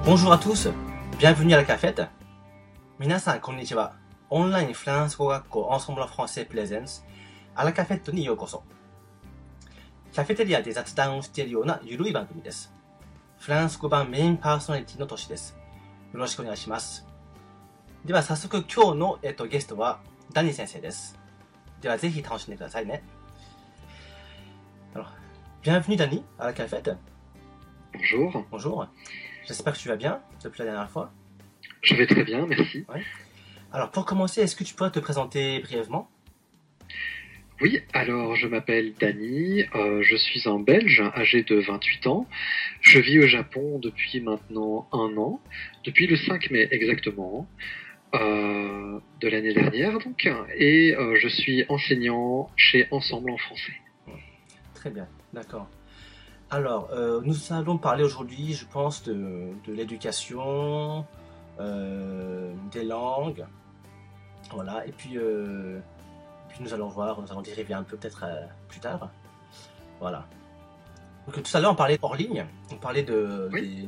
Bonjour à tous, bienvenue à la cafette. 皆さんこんにちは。オンラインフランス語学校 Ensemble en français Plaisance あla cafetteにようこそ。カフェテリアで雑談をしているようなゆるい番組です。フランス語版メインパーソナリティのトシです。よろしくお願いします。では早速今日の、ゲストはダニー先生です。ではぜひ楽しんでくださいね。Alors, bienvenue Dani à la cafette. Bonjour. Bonjour. J'espère que tu vas bien depuis la dernière fois. Je vais très bien, merci. Ouais. Alors pour commencer, est-ce que tu pourrais te présenter brièvement? Oui, alors je m'appelle Dani, je suis un Belge âgé de 28 ans. Je vis au Japon depuis maintenant 1 an, depuis le 5 mai exactement, de l'année dernière donc, et je suis enseignant chez Ensemble en français. Très bien, d'accord. Alors, nous allons parler aujourd'hui, je pense, de l'éducation, des langues, voilà, et puis nous allons voir, nous allons dériver un peu peut-être plus tard, voilà. Donc tout à l'heure on parlait hors ligne, on parlait Oui.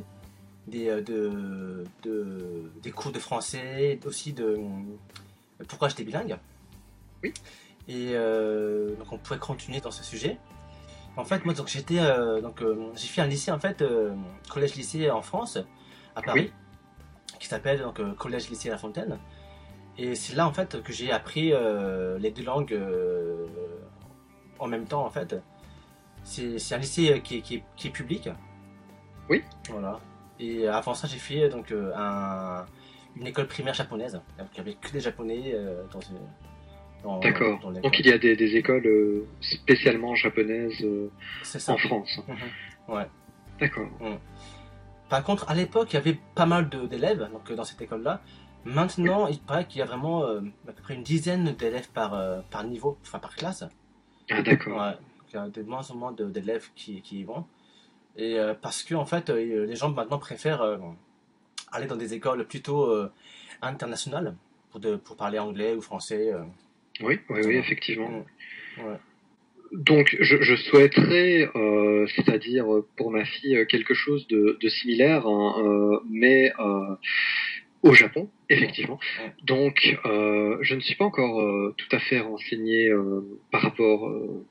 des cours de français, aussi de pourquoi j'étais bilingue. Oui. Et donc on pourrait continuer dans ce sujet. En fait, moi, donc j'ai fait un lycée en fait, collège-lycée en France, à Paris, qui s'appelle donc collège-lycée La Fontaine. Et c'est là en fait que j'ai appris les deux langues en même temps en fait. C'est un lycée qui est public. Oui. Voilà. Et avant ça, j'ai fait donc une école primaire japonaise. Donc il y avait que des japonais D'accord. dans l'école. Donc il y a des écoles spécialement japonaises en France. Mm-hmm. Ouais. D'accord. Par contre, à l'époque, il y avait pas mal d'élèves donc, dans cette école-là. Maintenant, il paraît qu'il y a vraiment à peu près une dizaine d'élèves par niveau, enfin par classe. Ah d'accord. Ouais. Donc, il y a de moins en moins d'élèves qui y vont. Et parce que en fait, les gens maintenant préfèrent aller dans des écoles plutôt internationales pour parler anglais ou français. Oui, Voilà. effectivement. Ouais. Donc, je souhaiterais, c'est-à-dire pour ma fille, quelque chose de similaire, hein, mais au Japon, effectivement. Ouais. Donc, je ne suis pas encore tout à fait renseigné par rapport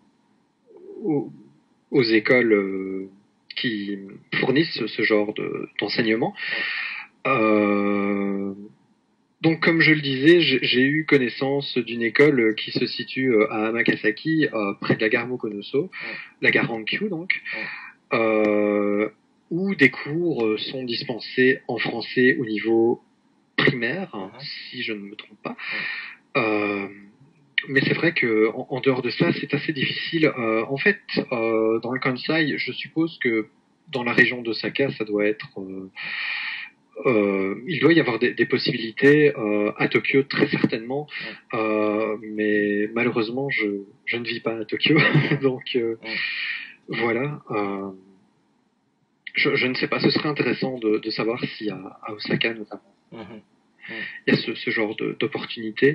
aux écoles qui fournissent ce genre d'enseignement. Donc, comme je le disais, j'ai eu connaissance d'une école qui se situe à Amakasaki, près de la gare Mokonoso, la gare Hankyu donc, où des cours sont dispensés en français au niveau primaire, si je ne me trompe pas. Mais c'est vrai que en dehors de ça, c'est assez difficile. En fait, dans le Kansai, je suppose que dans la région d'Osaka, ça doit être il doit y avoir des possibilités à Tokyo très certainement, mais malheureusement je ne vis pas à Tokyo, donc voilà. Je ne sais pas, ce serait intéressant de savoir si à Osaka notamment il y a ce genre d'opportunité.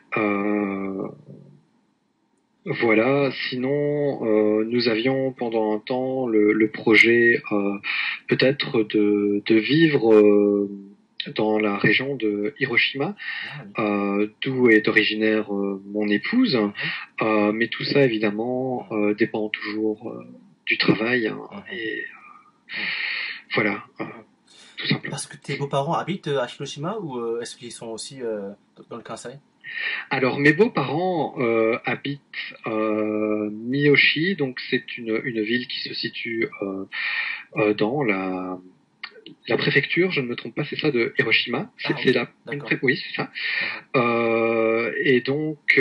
Voilà, sinon nous avions pendant un temps le projet peut-être de vivre dans la région de Hiroshima, d'où est originaire mon épouse, mais tout ça évidemment dépend toujours du travail, et voilà, tout simplement. Parce que tes beaux-parents habitent à Hiroshima ou est-ce qu'ils sont aussi dans le Kansai? Alors mes beaux-parents habitent Miyoshi, donc c'est une ville qui se situe dans la préfecture, je ne me trompe pas, c'est ça, de Hiroshima. Oui, c'est ça. Et donc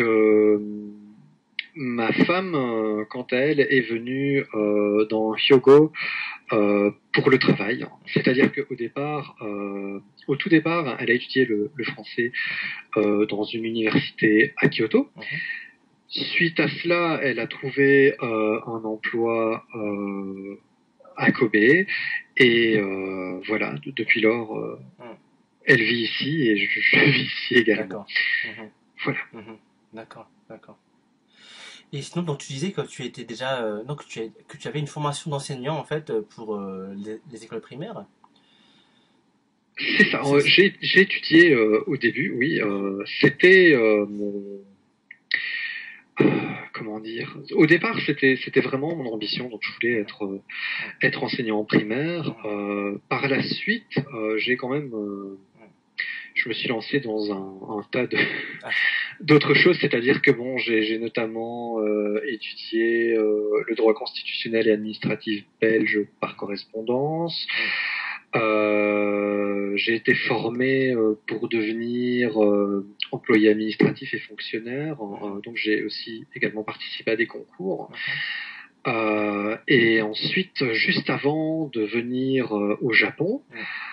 ma femme, quant à elle, est venue dans Hyogo pour le travail. C'est-à-dire qu'au départ, au tout départ, elle a étudié le français dans une université à Kyoto. Suite à cela, elle a trouvé un emploi à Kobe, et voilà, depuis lors, elle vit ici et je vis ici également. D'accord. Voilà. D'accord. Et sinon, donc tu disais que tu étais déjà, que tu avais une formation d'enseignant en fait pour les écoles primaires. C'est ça. J'ai étudié au début, oui. C'était mon comment dire. Au départ, c'était vraiment mon ambition. Donc, je voulais être enseignant en primaire. Par la suite, j'ai quand même je me suis lancé dans un tas d'autres choses, c'est-à-dire que bon, j'ai notamment étudié le droit constitutionnel et administratif belge par correspondance. J'ai été formé pour devenir employé administratif et fonctionnaire, donc j'ai aussi également participé à des concours. Et ensuite, juste avant de venir au Japon,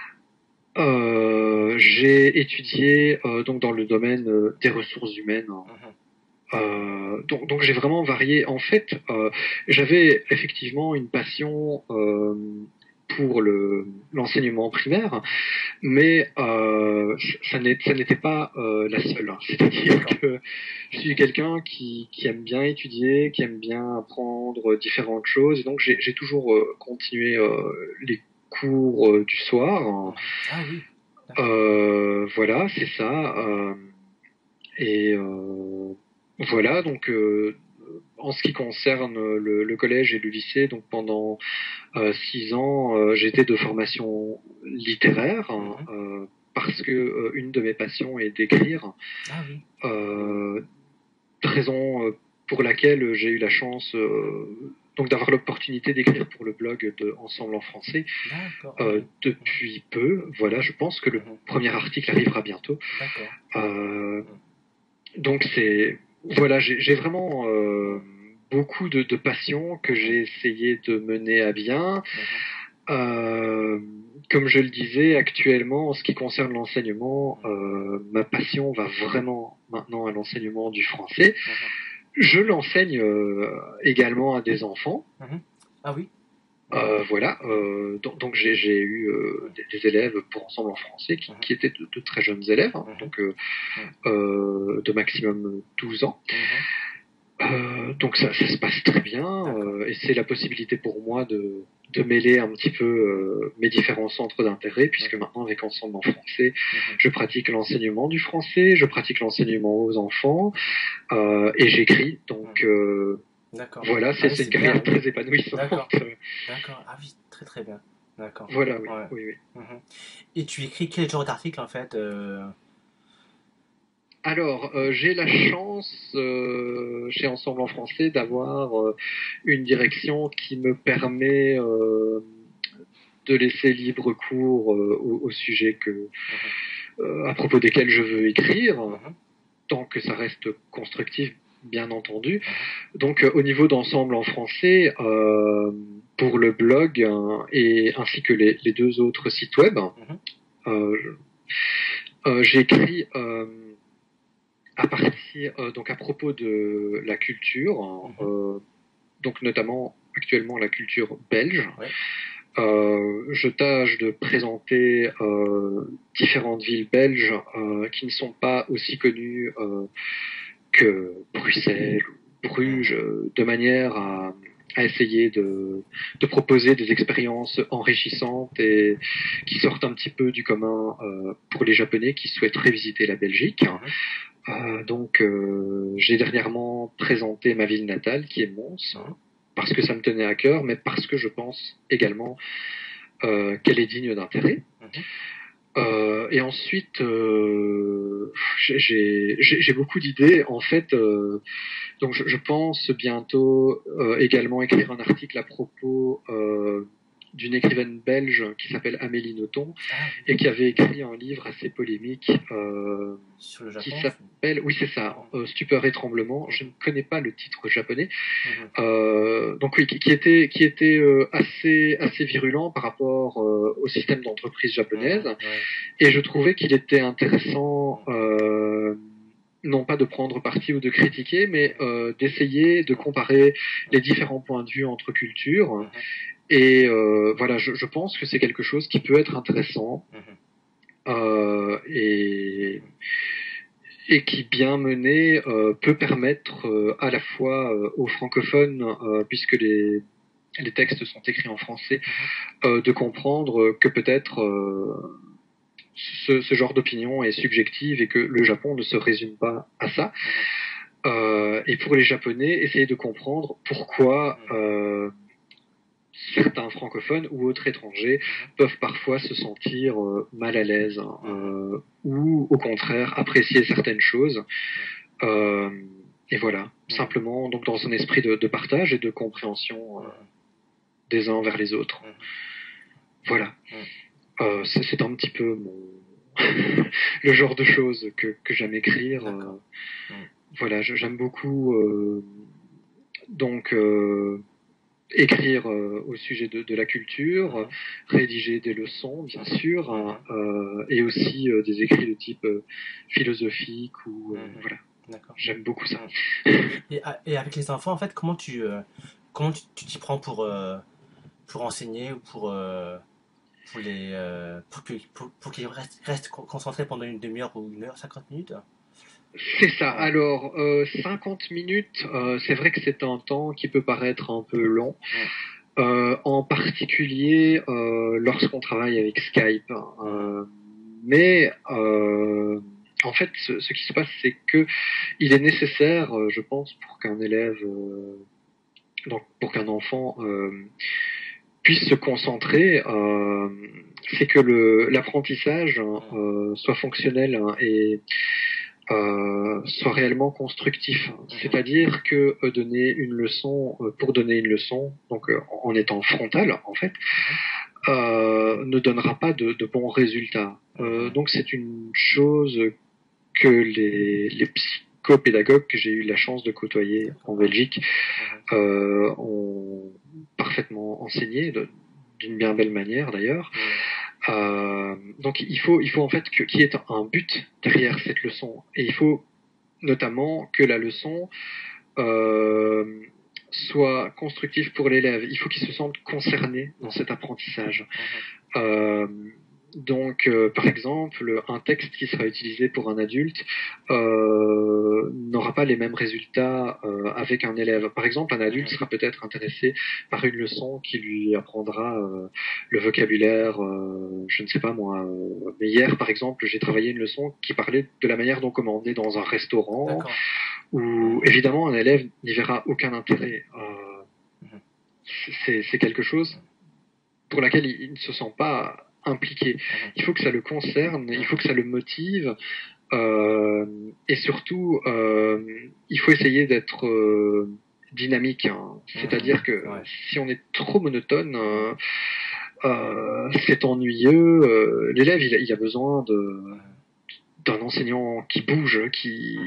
j'ai étudié donc dans le domaine des ressources humaines. Donc j'ai vraiment varié. En fait, j'avais effectivement une passion pour l'enseignement primaire, mais ça n'était pas la seule. C'est-à-dire que je suis quelqu'un qui aime bien étudier, qui aime bien apprendre différentes choses, et donc j'ai toujours continué les cours du soir. Ah oui. Voilà, c'est ça. Et voilà, donc en ce qui concerne le collège et le lycée, donc pendant 6 ans, j'étais de formation littéraire parce que une de mes passions est d'écrire. Ah oui. Raison pour laquelle j'ai eu la chance donc d'avoir l'opportunité d'écrire pour le blog de Ensemble en français depuis peu. Voilà, je pense que le premier article arrivera bientôt. Donc c'est voilà, j'ai vraiment beaucoup de passion que j'ai essayé de mener à bien. Comme je le disais, actuellement, en ce qui concerne l'enseignement, ma passion va vraiment maintenant à l'enseignement du français. Je l'enseigne également à des enfants. Ah oui. Voilà, donc j'ai eu des élèves pour Ensemble en français qui étaient de très jeunes élèves, donc de maximum 12 ans. Donc ça se passe très bien, et c'est la possibilité pour moi de mêler un petit peu mes différents centres d'intérêt, puisque maintenant avec Ensemble en français, je pratique l'enseignement du français, je pratique l'enseignement aux enfants, et j'écris, donc voilà, c'est une carrière très épanouissante. D'accord, ah oui, très très bien. D'accord. Voilà, oui. Et tu écris quel genre d'article en fait Alors, j'ai la chance chez Ensemble en français d'avoir une direction qui me permet de laisser libre cours au sujet à propos desquels je veux écrire, tant que ça reste constructif, bien entendu. Donc, au niveau d'Ensemble en français, pour le blog et ainsi que les deux autres sites web, j'ai écrit donc à propos de la culture, donc notamment actuellement la culture belge. Je tâche de présenter différentes villes belges qui ne sont pas aussi connues que Bruxelles ou Bruges, de manière à essayer de proposer des expériences enrichissantes et qui sortent un petit peu du commun pour les Japonais qui souhaiteraient visiter la Belgique. Donc j'ai dernièrement présenté ma ville natale qui est Mons, parce que ça me tenait à cœur, mais parce que je pense également qu'elle est digne d'intérêt. Et ensuite, j'ai beaucoup d'idées. En fait, donc je pense bientôt également écrire un article à propos d'une écrivaine belge qui s'appelle Amélie Nothomb et qui avait écrit un livre assez polémique sur le Japon, qui s'appelle, oui c'est ça, Stupeur et tremblement. Je ne connais pas le titre japonais. Donc oui, qui était assez virulent par rapport au système d'entreprise japonaise. Et je trouvais qu'il était intéressant non pas de prendre parti ou de critiquer, mais d'essayer de comparer les différents points de vue entre cultures. Et voilà, je pense que c'est quelque chose qui peut être intéressant et qui, bien mené, peut permettre à la fois aux francophones, puisque les textes sont écrits en français, de comprendre que peut-être ce genre d'opinion est subjective et que le Japon ne se résume pas à ça. Et pour les Japonais, essayer de comprendre pourquoi certains francophones ou autres étrangers peuvent parfois se sentir mal à l'aise ou au contraire apprécier certaines choses. Et voilà, simplement donc dans un esprit de partage et de compréhension des uns envers les autres. Voilà. C'est un petit peu le genre de choses que j'aime écrire. Voilà, j'aime beaucoup donc écrire au sujet de la culture, rédiger des leçons, bien sûr, et aussi des écrits de type philosophique ou voilà. J'aime beaucoup ça. Et avec les enfants, en fait, comment tu t'y prends pour enseigner ou pour qu'ils restent concentrés pendant une demi-heure ou 1 heure, 50 minutes? C'est ça. Alors, 50 minutes, c'est vrai que c'est un temps qui peut paraître un peu long. En particulier lorsqu'on travaille avec Skype. Mais en fait, ce qui se passe, c'est que il est nécessaire, je pense, pour qu'un élève, donc pour qu'un enfant puisse se concentrer, c'est que l'apprentissage soit fonctionnel et soit réellement constructif. C'est-à-dire que donner une leçon pour donner une leçon, donc en étant frontal en fait, ne donnera pas de bons résultats. Donc c'est une chose que les psychopédagogues que j'ai eu la chance de côtoyer en Belgique ont parfaitement enseigné d'une bien belle manière d'ailleurs. Donc il faut en fait qu'il y ait un but derrière cette leçon et il faut notamment que la leçon soit constructive pour l'élève. Il faut qu'il se sente concerné dans cet apprentissage. Donc, par exemple, un texte qui sera utilisé pour un adulte n'aura pas les mêmes résultats avec un élève. Par exemple, un adulte sera peut-être intéressé par une leçon qui lui apprendra le vocabulaire, je ne sais pas moi. Mais hier, par exemple, j'ai travaillé une leçon qui parlait de la manière dont commander dans un restaurant, où évidemment un élève n'y verra aucun intérêt. C'est quelque chose pour laquelle il ne se sent pas impliqué. Il faut que ça le concerne, il faut que ça le motive, et surtout, il faut essayer d'être dynamique. Hein. C'est-à-dire que si on est trop monotone, c'est ennuyeux. L'élève, il a besoin d'un enseignant qui bouge, qui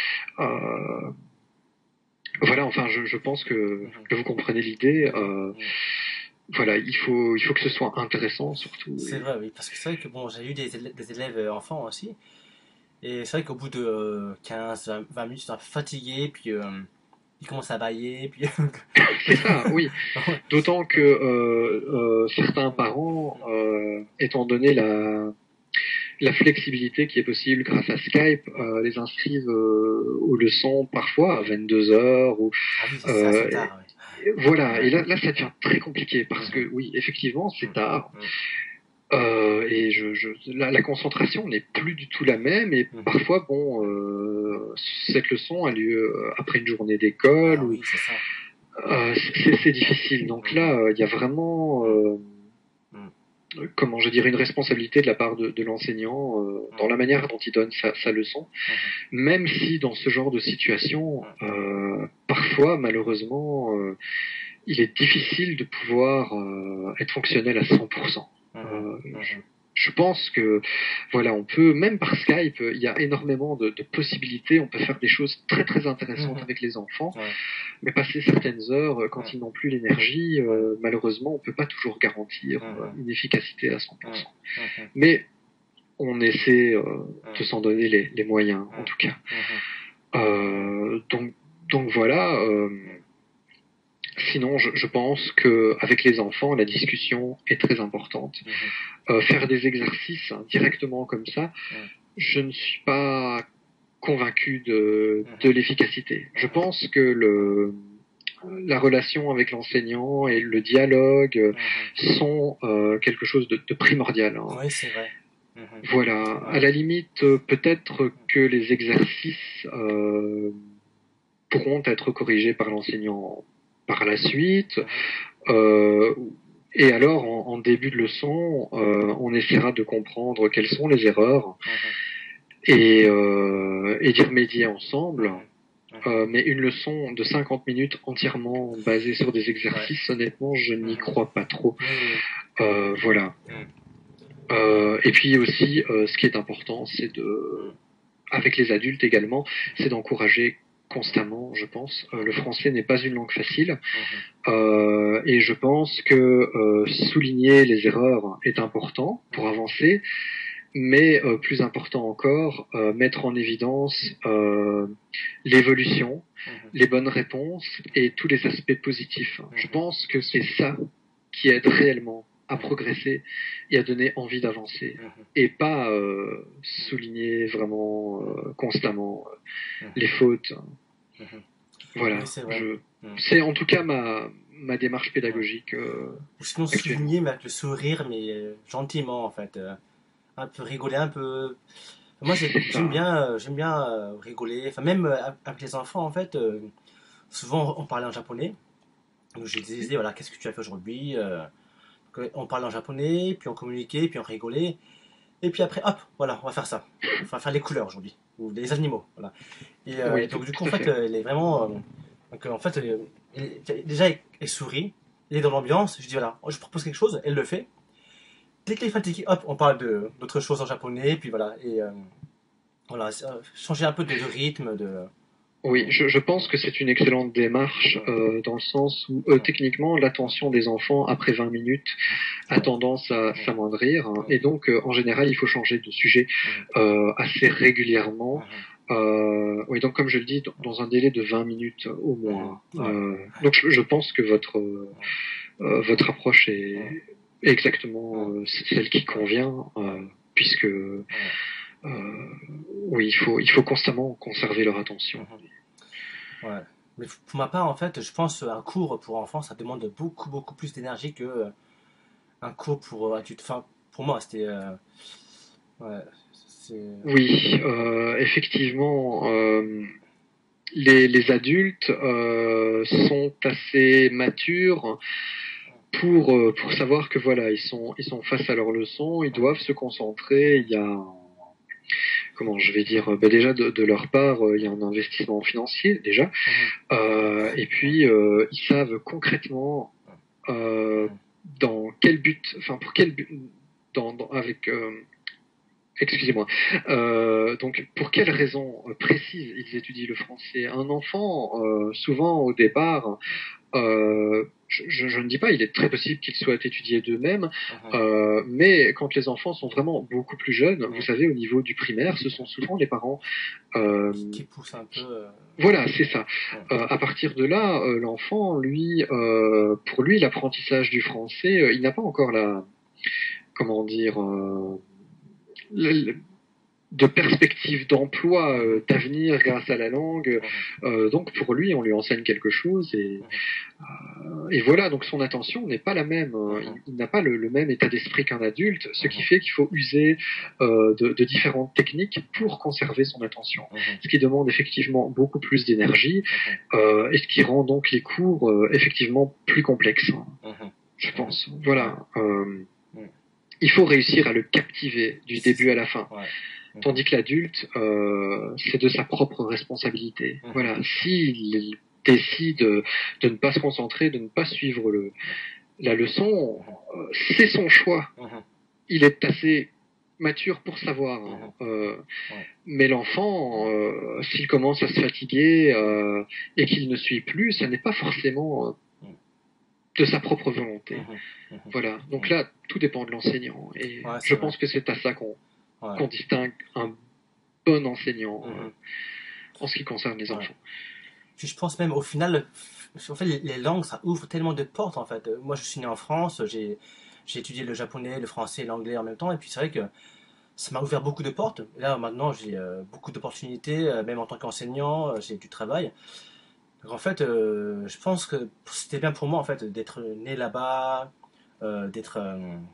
voilà. Enfin, je pense que vous comprenez l'idée. Voilà, il faut que ce soit intéressant surtout. C'est vrai, oui, parce que c'est vrai que bon, j'ai eu des élèves enfants aussi, et c'est vrai qu'au bout de 15-20 minutes, ils sont un peu fatigués, puis ils commencent à bâiller, puis... C'est ça, oui. D'autant que certains parents, étant donné la flexibilité qui est possible grâce à Skype, les inscrivent aux leçons parfois à 22 heures ou c'est assez tard, oui. Voilà, et là ça devient très compliqué parce que oui, effectivement, c'est tard. Et la concentration n'est plus du tout la même et parfois bon cette leçon a lieu après une journée d'école ou c'est difficile. Donc là il y a vraiment comment je dirais une responsabilité de la part de l'enseignant dans la manière dont il donne sa leçon, même si dans ce genre de situation parfois malheureusement il est difficile de pouvoir être fonctionnel à 100%. Je pense que voilà, on peut même par Skype, il y a énormément de possibilités. On peut faire des choses très très intéressantes avec les enfants, mais passer certaines heures quand ils n'ont plus l'énergie, malheureusement, on peut pas toujours garantir une efficacité à 100%. Mais on essaie de s'en donner les moyens, en tout cas. Donc voilà. Sinon, je pense que avec les enfants, la discussion est très importante. Faire des exercices directement comme ça, je ne suis pas convaincu de l'efficacité. Je pense que la relation avec l'enseignant et le dialogue sont quelque chose de primordial. Hein. Oui, c'est vrai. Voilà. À la limite, peut-être que les exercices pourront être corrigés par l'enseignant par la suite. Euh, et alors, en début de leçon, on essaiera de comprendre quelles sont les erreurs et d'y remédier ensemble. Mais une leçon de 50 minutes entièrement basée sur des exercices, honnêtement, je n'y crois pas trop. Voilà. Et puis aussi, ce qui est important, c'est avec les adultes également, c'est d'encourager constamment, je pense. Le français n'est pas une langue facile, et je pense que souligner les erreurs est important pour avancer, mais plus important encore, mettre en évidence l'évolution, les bonnes réponses et tous les aspects positifs. Je pense que c'est ça qui aide réellement à progresser et à donner envie d'avancer, et pas souligner vraiment constamment les fautes. Voilà, c'est en tout cas ma démarche pédagogique. Ou sinon souligner, mais avec le sourire, mais gentiment en fait. Un peu rigoler un peu. Moi j'aime bien rigoler, enfin même avec les enfants en fait. Souvent on parlait en japonais. Donc je disais voilà, qu'est-ce que tu as fait aujourd'hui, on parlait en japonais, puis on communiquait, puis on rigolait. Et puis après, hop, voilà, on va faire ça. On va faire les couleurs aujourd'hui, ou les animaux. Voilà. Et donc du coup, en fait, il est vraiment... donc en fait, déjà, il sourit, il est dans l'ambiance. Je dis voilà, je propose quelque chose, elle le fait. Dès qu'il est fatigué, hop, on parle d'autres choses en japonais, puis voilà. Et voilà, changer un peu de rythme, de... Oui, je pense que c'est une excellente démarche dans le sens où techniquement l'attention des enfants après 20 minutes a tendance à s'amoindrir et donc en général il faut changer de sujet assez régulièrement. Oui, donc comme je le dis, dans un délai de 20 minutes au moins. Donc je pense que votre approche est exactement celle qui convient puisque oui, il faut constamment conserver leur attention. Ouais. Mais pour ma part, en fait, je pense un cours pour enfants, ça demande beaucoup plus d'énergie que un cours pour adultes. Enfin, pour moi, c'était. Ouais, oui, effectivement, les adultes sont assez matures pour savoir que voilà, ils sont face à leur leçon, ils doivent se concentrer. Il y a comment je vais dire, déjà de leur part, il y a un investissement financier déjà, et puis ils savent concrètement dans quel but, enfin pour quel but, avec excusez-moi. Donc, pour quelles raisons précises ils étudient le français? Un enfant, souvent au départ, je ne dis pas, il est très possible qu'ils soient étudiés d'eux-mêmes, mais quand les enfants sont vraiment beaucoup plus jeunes, vous savez, au niveau du primaire, ce sont souvent les parents qui poussent un peu. Voilà, c'est ça. À partir de là, l'enfant, lui, pour lui, l'apprentissage du français, il n'a pas encore la, comment dire, de perspective d'emploi, d'avenir grâce à la langue. Donc pour lui, on lui enseigne quelque chose et voilà. Donc son attention n'est pas la même. Il n'a pas le même état d'esprit qu'un adulte, ce qui fait qu'il faut user de différentes techniques pour conserver son attention. Ce qui demande effectivement beaucoup plus d'énergie et ce qui rend donc les cours effectivement plus complexes. Je pense. Voilà. Il faut réussir à le captiver du début à la fin. Tandis que l'adulte, c'est de sa propre responsabilité. Voilà. S'il décide de ne pas se concentrer, de ne pas suivre la leçon, c'est son choix. Il est assez mature pour savoir. Mais l'enfant, s'il commence à se fatiguer et qu'il ne suit plus, ça n'est pas forcément de sa propre volonté. Voilà. Donc là, tout dépend de l'enseignant. Et je pense que c'est à ça qu'on distingue un bon enseignant en ce qui concerne les enfants. Puis je pense même au final, en fait, les langues, ça ouvre tellement de portes en fait. Moi, je suis né en France, j'ai étudié le japonais, le français, l'anglais en même temps, et puis c'est vrai que ça m'a ouvert beaucoup de portes. Là, maintenant, j'ai beaucoup d'opportunités, même en tant qu'enseignant, j'ai du travail. Donc en fait, je pense que c'était bien pour moi en fait d'être né là-bas, d'être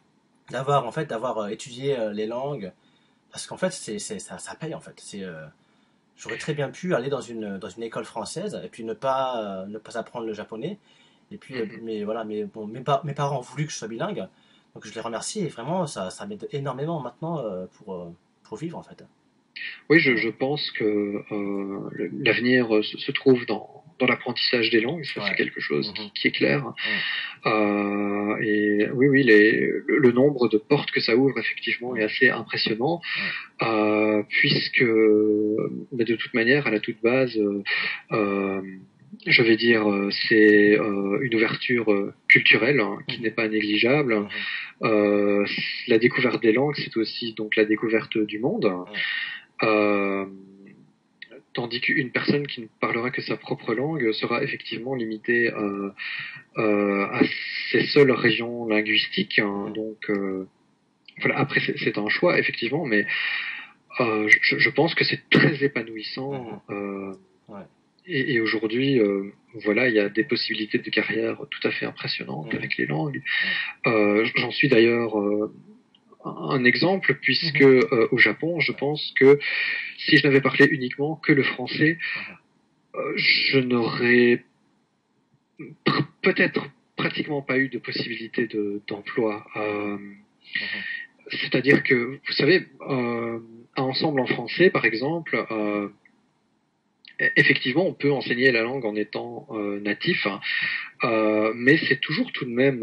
d'avoir en fait d'avoir étudié les langues parce qu'en fait ça paye en fait. J'aurais très bien pu aller dans une école française et puis ne pas apprendre le japonais. Et puis, Mhm. mais voilà, mais bon, mes parents ont voulu que je sois bilingue, donc je les remercie et vraiment, ça m'aide énormément maintenant pour vivre en fait. Oui, Voilà. je pense que l'avenir se trouve dans l'apprentissage des langues, ça c'est Ouais. quelque chose Mhm. qui est clair. Mhm. Et oui, oui, le nombre de portes que ça ouvre effectivement est Mhm. assez impressionnant, Mhm. puisque de toute manière, à la toute base, euh, je vais dire, c'est une ouverture culturelle hein, qui n'est Mhm. pas négligeable. Mhm. Euh, la découverte des langues, c'est aussi donc la découverte du monde. Mhm. Euh, Tandis qu'une personne qui ne parlera que sa propre langue sera effectivement limitée à ses seules régions linguistiques. Hein. Mhm. Donc, voilà, après, c'est un choix, effectivement, mais je pense que c'est très Mhm. épanouissant. Ouais. Et aujourd'hui, voilà, il y a des possibilités de carrière tout à fait impressionnantes Mhm. avec les langues. Ouais. J'en suis d'ailleurs un exemple, puisque Mhm. au Japon, je Ouais. pense que si je n'avais parlé uniquement que le français, Mhm. je n'aurais peut-être pratiquement pas eu de possibilité d'emploi. Mhm. Mhm. C'est-à-dire que, vous savez, à Ensemble en français, par exemple, effectivement, on peut enseigner la langue en étant natif, hein, mais c'est toujours tout de même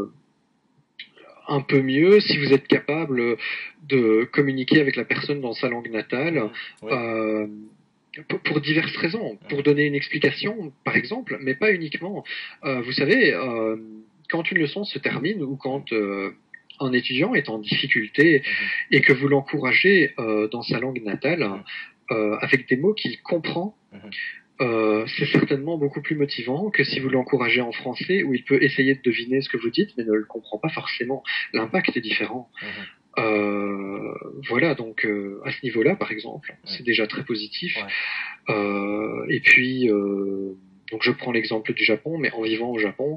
un peu mieux si vous êtes capable de communiquer avec la personne dans sa langue natale. Mhm. Oui. Euh, pour diverses raisons, pour Mhm. donner une explication, par exemple, mais pas uniquement. Vous savez, quand une leçon se termine ou Mhm. quand un étudiant est en difficulté Mhm. et que vous l'encouragez dans sa langue natale, Mhm. avec des mots qu'il comprend, Mhm. c'est certainement beaucoup plus motivant que si vous Mhm. l'encouragez en français où il peut essayer de deviner ce que vous dites mais ne le comprend pas forcément. L'impact est différent. Mhm. Euh, voilà, donc à ce niveau-là, par exemple, Ouais. c'est déjà très positif. Ouais. Et puis, donc je prends l'exemple du Japon, mais en vivant au Japon,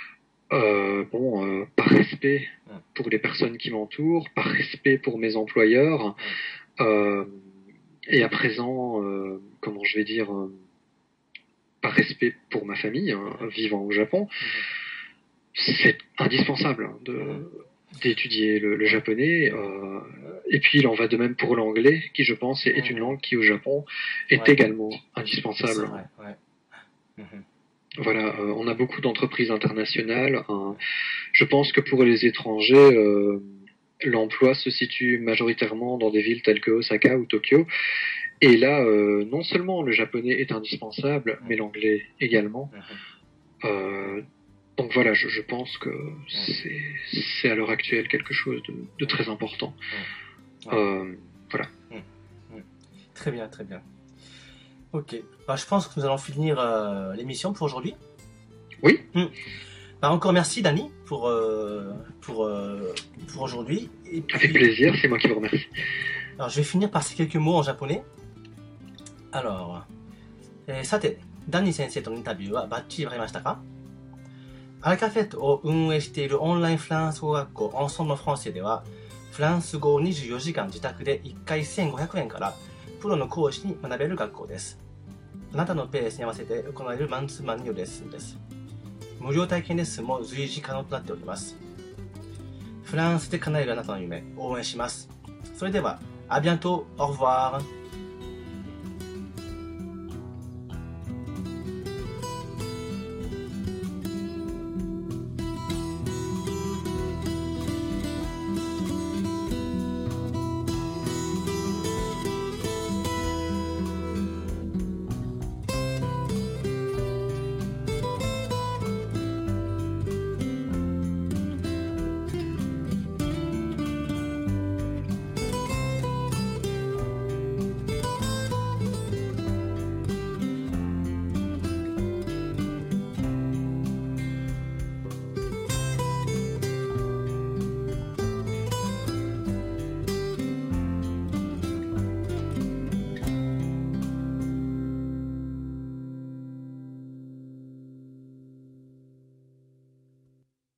par respect Mhm. pour les personnes qui m'entourent, par respect pour mes employeurs, Mhm. euh, et à présent, comment je vais dire, par respect pour ma famille, hein, Mhm. vivant au Japon, Mhm. c'est indispensable hein, Mhm. d'étudier le Ouais. japonais. Mhm. Et puis il en va de même pour l'anglais, qui je pense est une Mhm. langue qui au Japon est Ouais. également C'est indispensable. vrai. Ouais. Mhm. Voilà, on a beaucoup d'entreprises internationales. Hein. Ouais. Je pense que pour les étrangers, l'emploi se situe majoritairement dans des villes telles que Osaka ou Tokyo. Et là, non seulement le japonais est indispensable, mais Mhm. l'anglais également. Mhm. Euh, donc voilà, je pense que Mhm. c'est à l'heure actuelle quelque chose de Mhm. très important. Mhm. Ouais. Euh, voilà. Mhm. Mhm. Très bien, très bien. Ok. Bah, je pense que nous allons finir l'émission pour aujourd'hui. Oui, Mhm. Bah, encore merci, Dani, pour, pour aujourd'hui. Et avec puis, plaisir, c'est moi qui vous remercie. alors, je vais finir par ces quelques mots en japonais. Alors, さて、ダニー先生とのインタビューはバッチリわかりましたか？アラカフェットを運営しているオンラインフランス語学校アンソンのフランセでは、フランス語を24時間自宅で1回1500円からプロの講師に学べる学校です。あなたのペースに合わせて行われるマンツーマンによるレッスンです。無料体験レッスンも随時可能となっております。フランスで叶えるあなたの夢、応援します。それでは、à bientôt, au revoir.